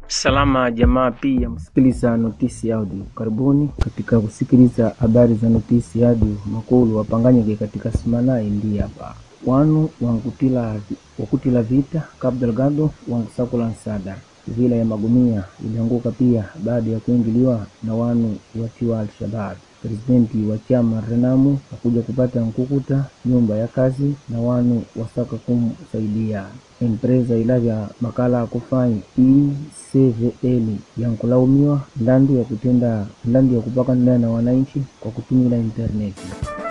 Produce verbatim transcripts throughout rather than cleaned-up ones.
Salama jamaa, pia msikiliza Notisi Audio. Karibuni katika kusikiliza habari za Notisi Audio. Makulu wapanganyike katika simana India hapa. Wanu wangutila wakutila vita Cabo Delgado wangusakula nsada. Vila ya Magomia ilianguka pia baada ya kuingiliwa na wanu watiwa Al-Shabaab. Presidenti wa chama Renamu akuja kupata nkukuta nyumba ya kazi na wanu wasaka kumsaidia. Empresa ilavya makala kufanya E C V L yankulaumiwa ndandu ya kutenda ndandu ya kupaka ndani na wananchi kwa kutumia interneti.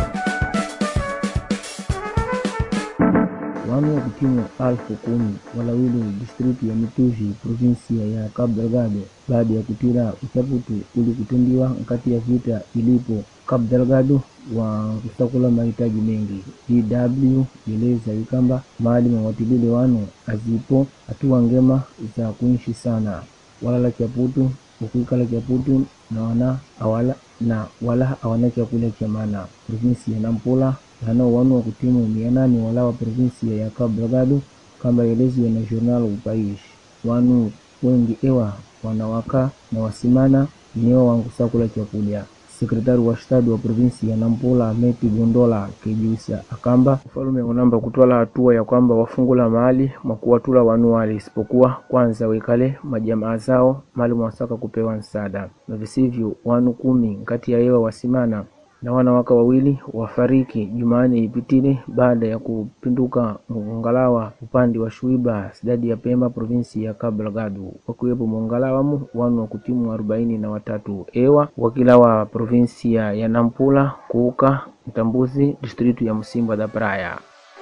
Wanu wa kutimu alfu kumi walawili district ya Mituji provinsia ya Cabo Delgado baada ya kutira uchaputu uli kutendiwa kati ya vita ilipo Cabo Delgado wa kusakula mahitaji mengi. D W ileza ikamba mahali mwatilile wanu azipo hatua ngema za kuishi sana. Walala chaputu ukuikala chaputu na wana awala na wala hawana chakula cha maana. Provinsi ya Nampula hano wanu wa kutimu mia nane wala wa provinsi ya Cabo Delgado kama elezi na journal upaish. Wanu wengi ewa wanawaka na wasimana niyo wangu sakula chakula. Sekretari wa shtadi wa provinsi ya Nampula Meti Gondola kejuisa akamba ufalume unamba kutwala hatua ya kwamba wafungula mahali makuwatula wanu wale isipokuwa kwanza wekale majamaa zao mali mwasaka kupewa nsada. Na visivyo wanu kumi kati ya ewa wasimana na wanawaka wawili wafariki Jumane ipitile baada ya kupinduka mungalawa upande wa Shuiba sidadi ya Pemba provinsi ya Cabo Delgado. Wakuwepo mungalawa mu wanu wa kutimu arobaini na watatu ewa wakila wa provinsi ya Nampula kuuka Mtambuzi district ya Musimba da Praia.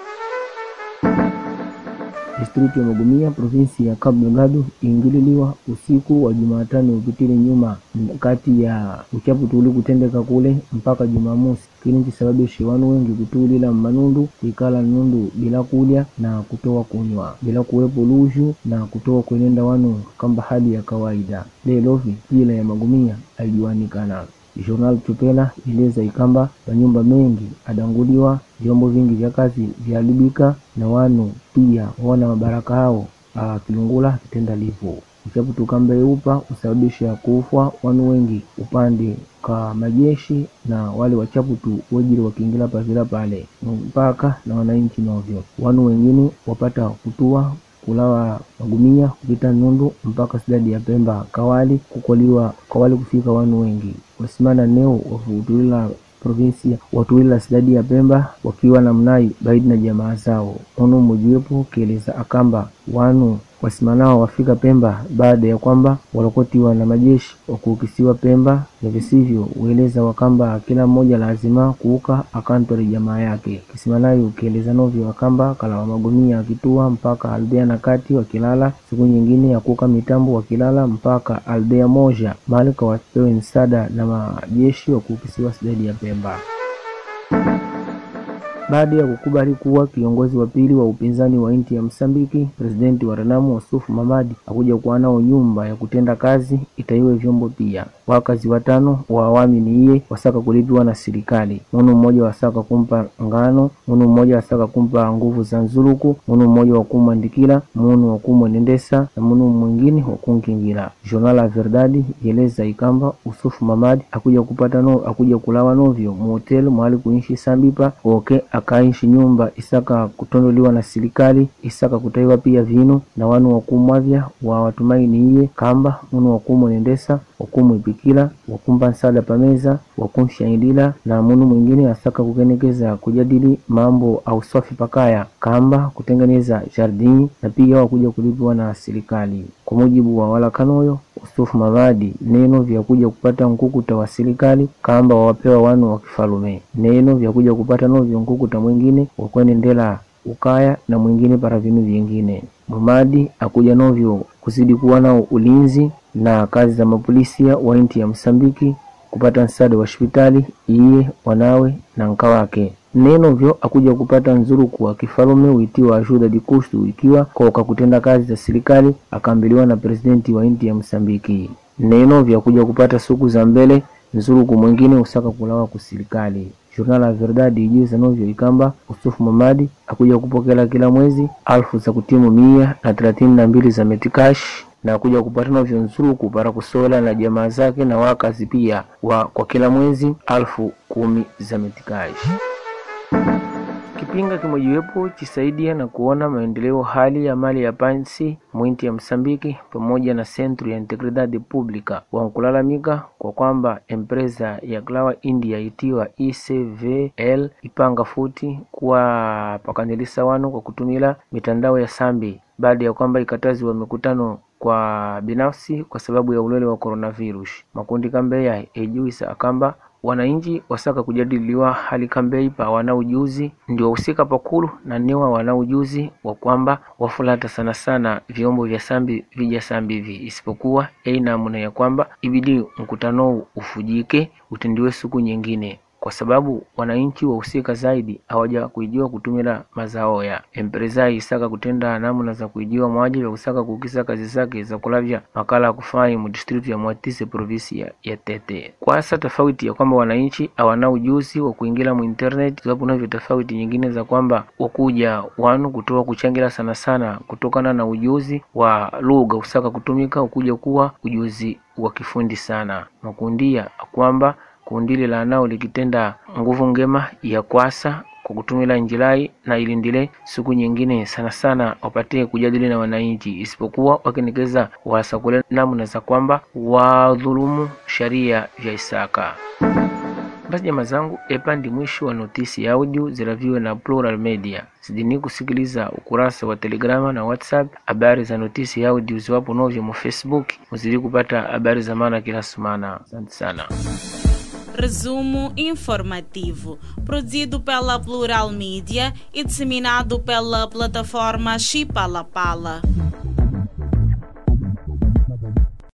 District ya Magomia provinsi ya Cabo Delgado ingililiwa usiku wa Jumatano upitile nyuma kati ya uchaputu uli kutendeka kule mpaka Jumamosi. Kini kisababisha wanu wengi kutulila manundu ikala nundu bila kulya na kutoa kunywa bila kuwepo luju na kutoa kuenenda wanu kamba hali ya kawaida. Lelovi jila ya Magomia alijuanikana. Journal Tupela ileza ikamba nyumba mengi adanguliwa, vyombo vingi vya kazi vyalibika na wanu pia wana mabaraka hao kilungula kitenda lipo. Uchaputu kamba eupa usababisha kufwa wanu wengi upande kwa majeshi na wale wachaputu wajiri wakiingila pavila pale mpaka na wananchi novyo. Wanu wengine wapata kutua kulawa Magomia kupita nundu mpaka sidadi ya Pemba Kawali kukoliwa Kawali kufika wanu wengi. Wasimana neo wafutulila provinsia watuila sidadi ya Pemba wakiwa na mnai baidi na jamaa zao. Ono mojuepo keleza akamba wanu wasimanao wafika Pemba baada ya kwamba walokotiwa na majeshi wakukisiwa Pemba na visivyo ueleza wakamba kila mmoja lazima kuuka akantori jamaa yake. Kisimanayo ukieleza novyo wakamba kala wa Magomia akitua mpaka Albea na kati wakilala, siku nyingine ya kuuka mitambo wakilala mpaka Albea moja malika wapewe nsada na majeshi wakukisiwa sidadi ya Pemba. Baada ya kukubali kuwa kiongozi wa pili wa upinzani wa inti ya Msambiki, presidenti wa Renamu Osufu Mamadi akuja kuwa nao nyumba ya kutenda kazi itaiwe vyombo pia. Wakazi watano wa awami ni iye wasaka kulipiwa na serikali. Munu mmoja wasaka kumpa ngano, munu mmoja wasaka kumpa nguvu za nzuluku, munu mmoja wakumandikila, munu wakumwenendesa na munu mwingine wakunkingira. Journal la Verdade yeleza ikamba Osufu Mamadi akuja kupata no akuja kulawa novyo mu hotel mahali kuishi Sambipa oke akaishi nyumba isaka kutondoliwa na serikali isaka kutaiwa pia vino na wanu wakumwavya wa watumaini iye kamba munu wakumwenendesa wakumwipikila wakumpa nsada pameza wakumshaindila na munu mwingine asaka kukenekeza kujadili mambo au swafi pakaya kamba kutengeneza jardini na pia wakuja kulipiwa na serikali. Kwa mujibu wa wala kanoyo Osufu Mamadi neno vya kuja kupata nkukuta wa serikali kamba wawapewa wanu wa kifalume. Neno vya kuja kupata novyo nkukuta mwingine wakwenendela ukaya na mwingine para vinu vingine. Mamadi akuja novyo kuzidi kuwa nao ulinzi na kazi za mapolisia wa inti ya Msambiki kupata nsada wa hospitali iye wanawe na nkawake. Neno vyo akuja kupata nzuru kwa kifalume uitiwa ajuda di kustu ikiwa kwa kutenda kazi za serikali akambiliwa na presidenti wa inti ya Msambiki. Neno vya kuja kupata suku za mbele nzuru kumwingine usaka kulawa kuserikali. Journal la Verdade ijuza novyo ikamba Osufu Mamadi akuja kupokela kila mwezi alfu za kutimu mia na thelathini na mbili za metikash na kuja kupatana vyonzuruku para kusola na jamaa zake na wakazi pia wa kwa kila mwezi alfu kumi za metikaji. Kipinga kimojiwepo chisaidia na kuona maendeleo hali ya mali ya pansi mwinti ya Msambiki pamoja na Centro ya Integridade Pública wankulalamika kwa kwamba empresa ya Klawa India itiwa I C V L ipanga futi kwa pakanilisa wanu kwa kutumila mitandao ya sambi baada ya kwamba ikatazi wa mikutano kwa binafsi kwa sababu ya ulele wa coronavirus. Makundi kambeya ejuisa akamba wananchi wasaka kujadiliwa hali kambei pa wana ujuzi ndio usika pakulu na niwa wana ujuzi wa kwamba wafulata sana sana vyombo vya sambi vija sambi vi isipokuwa eina muna ya kwamba ibidi mkutano ufujike utendiwe siku nyingine kwa sababu wananchi wahusika zaidi hawaja kuijua kutumila mazao ya empresa isaka kutenda namna za kuijua mwaji ya usaka kukisa kazi zake za kulavya makala kufanya mu district ya Mwatise province ya, ya Tete. Kwa asa tofauti ya kwamba wananchi hawana ujuzi wa kuingia mu internet, sababu na tofauti nyingine za kwamba wakuja wanu kutoa kuchangira sana sana kutokana na ujuzi wa lugha usaka kutumika ukuja kuwa ujuzi wa kifundi sana. Makundia kwamba kundile la nao likitenda nguvu ngema ya kwasa kwa kutumila njilai na ilindile siku nyingine sana sana wapate kujadili na wananchi isipokuwa wakinikeza wasakule namna za kwamba wadhulumu sharia vya Isaka. Basi jamaa zangu, epa ndi mwisho wa notisi ya audio ziraviwe na Plural Media. Sidini kusikiliza ukurasa wa Telegrama na WhatsApp. Habari za notisi ya audio ziwapo novyo mu Facebook. Muzidi kupata habari za maana kila semana. Asante sana. Resumo informativo, produzido pela Plural Media e disseminado pela plataforma Chipalapala.